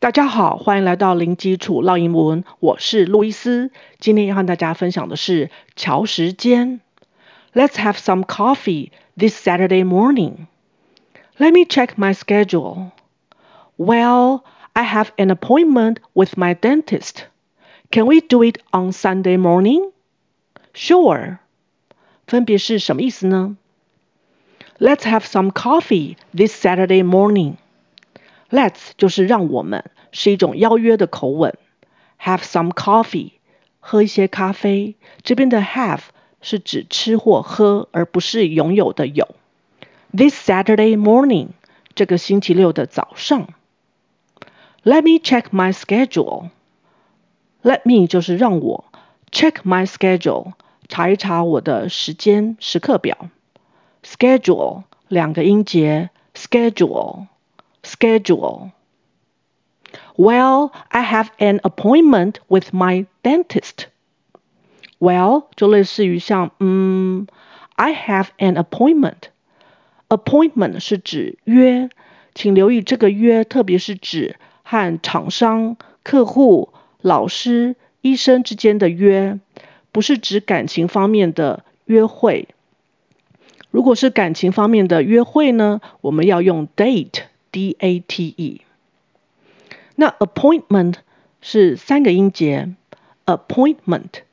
大家好，歡迎來到零基礎烙英文，我是路易斯。今天要和大家分享的是喬時間。Let's have some coffee this Saturday morning. Let me check my schedule. Well, I have an appointment with my dentist. Can we do it on Sunday morning? Sure. 分別是什麼意思呢？ Let's have some coffee this Saturday morning.Let's 就是讓我們，是一種邀約的口吻。Have some coffee 喝一些咖啡，這邊的 have 是指吃或喝，而不是擁有的有。This Saturday morning 這個星期六的早上。Let me check my schedule. Let me 就是讓我 check my schedule 查一查我的時間時刻表。Schedule 兩個音節 schedule。Schedule. Well, I have an appointment with my dentist. Well, 就類似於像I have an appointment. Appointment 是指約，請留意這個約特別是指和廠商、客戶、老師、醫生之間的約，不是指感情方面的約會。如果是感情方面的約會呢，我們要用 date。D-A-T-E 那 appointment 是三個音節 appointment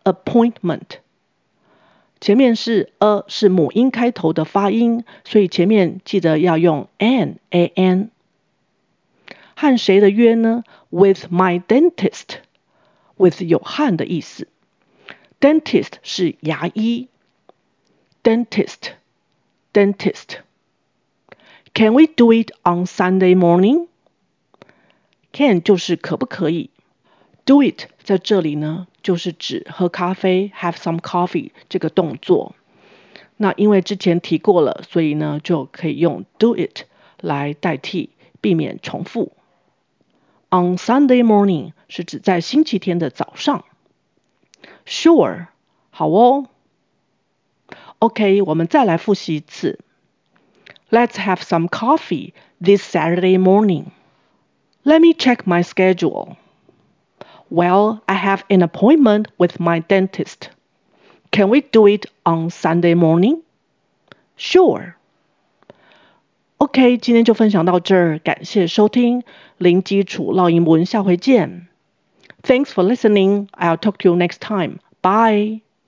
前面是 a 是母音開頭的發音，所以前面記得要用 an 和誰的約呢？ With my dentist with 有和的意思 dentist 是牙醫 dentist Can we do it on Sunday morning? Can 就是可不可以 Do it 在這裡呢，就是指喝咖啡 Have some coffee 這個動作。那因為之前提過了，所以呢就可以用 do it 來代替，避免重複。On Sunday morning 是指在星期天的早上。Sure 好哦。OK 我們再來複習一次。Let's have some coffee this Saturday morning. Let me check my schedule. Well, I have an appointment with my dentist. Can we do it on Sunday morning? Sure. OK, 今天就分享到這兒，感謝收聽零基礎烙英文，下回見。Thanks for listening. I'll talk to you next time. Bye.